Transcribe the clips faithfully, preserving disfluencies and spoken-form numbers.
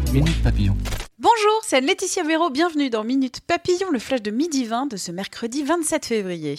Minute Papillon. Bonjour, c'est Laetitia Véro, bienvenue dans Minute Papillon, le flash de midi vingt de ce mercredi vingt-sept février.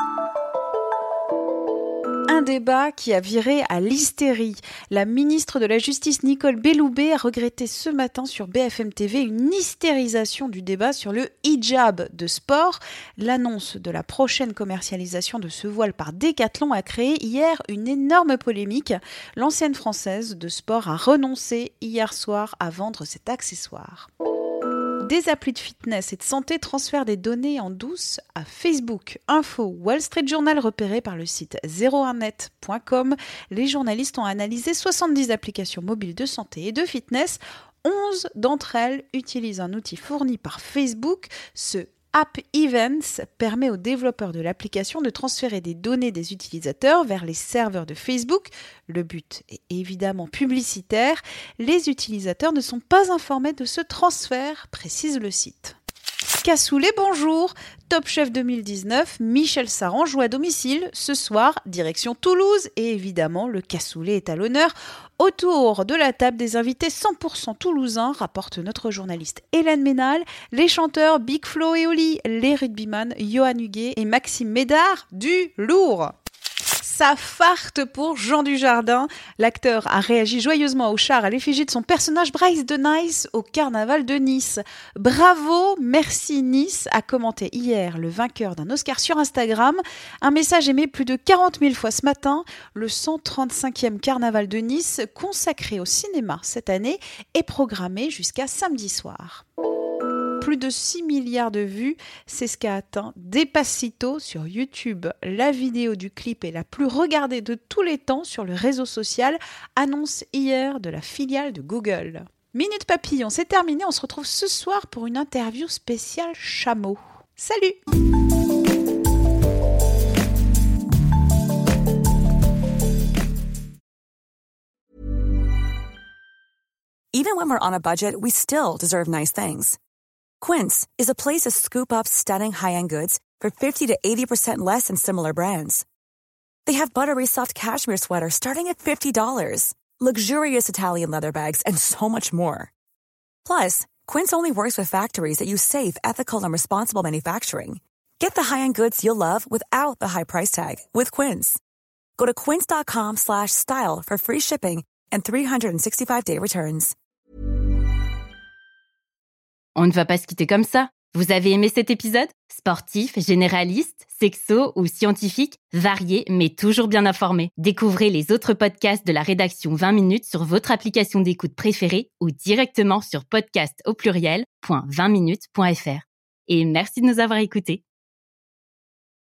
Un débat qui a viré à l'hystérie. La ministre de la Justice Nicole Belloubet a regretté ce matin sur B F M T V une hystérisation du débat sur le hijab de sport. L'annonce de la prochaine commercialisation de ce voile par Decathlon a créé hier une énorme polémique. L'ancienne française de sport a renoncé hier soir à vendre cet accessoire. Des applis de fitness et de santé transfèrent des données en douce à Facebook. Info Wall Street Journal repéré par le site zéro un net point com. Les journalistes ont analysé soixante-dix applications mobiles de santé et de fitness. onze d'entre elles utilisent un outil fourni par Facebook. Ce App Events permet aux développeurs de l'application de transférer des données des utilisateurs vers les serveurs de Facebook. Le but est évidemment publicitaire. Les utilisateurs ne sont pas informés de ce transfert, précise le site. Cassoulet, bonjour. Top Chef deux mille dix-neuf, Michel Saran joue à domicile. Ce soir, direction Toulouse. Et évidemment, le cassoulet est à l'honneur. Autour de la table des invités cent pour cent toulousains, rapporte notre journaliste Hélène Ménal, les chanteurs Big Flo et Oli, les rugbyman Johan Huguet et Maxime Médard, du lourd. Ça farte pour Jean Dujardin. L'acteur a réagi joyeusement au char à l'effigie de son personnage Bryce de Nice au carnaval de Nice. Bravo, merci Nice, a commenté hier le vainqueur d'un Oscar sur Instagram. Un message aimé plus de quarante mille fois ce matin. Le cent trente-cinquième carnaval de Nice, consacré au cinéma cette année, est programmé jusqu'à samedi soir. Plus de six milliards de vues, c'est ce qu'a atteint Despacito sur YouTube. La vidéo du clip est la plus regardée de tous les temps sur le réseau social, annonce hier de la filiale de Google. Minute Papillon, c'est terminé, on se retrouve ce soir pour une interview spéciale chameau. Salut! Even when we're on a budget, we still deserve nice things. Quince is a place to scoop up stunning high-end goods for fifty to eighty percent less than similar brands. They have buttery soft cashmere sweaters starting at fifty dollars, luxurious Italian leather bags, and so much more. Plus, Quince only works with factories that use safe, ethical, and responsible manufacturing. Get the high-end goods you'll love without the high price tag with Quince. Go to quince.com slash style for free shipping and three sixty-five day returns. On ne va pas se quitter comme ça. Vous avez aimé cet épisode ? Sportif, généraliste, sexo ou scientifique, varié mais toujours bien informé. Découvrez les autres podcasts de la rédaction vingt minutes sur votre application d'écoute préférée ou directement sur podcast au pluriel point vingt minutes point f r. Et merci de nous avoir écoutés.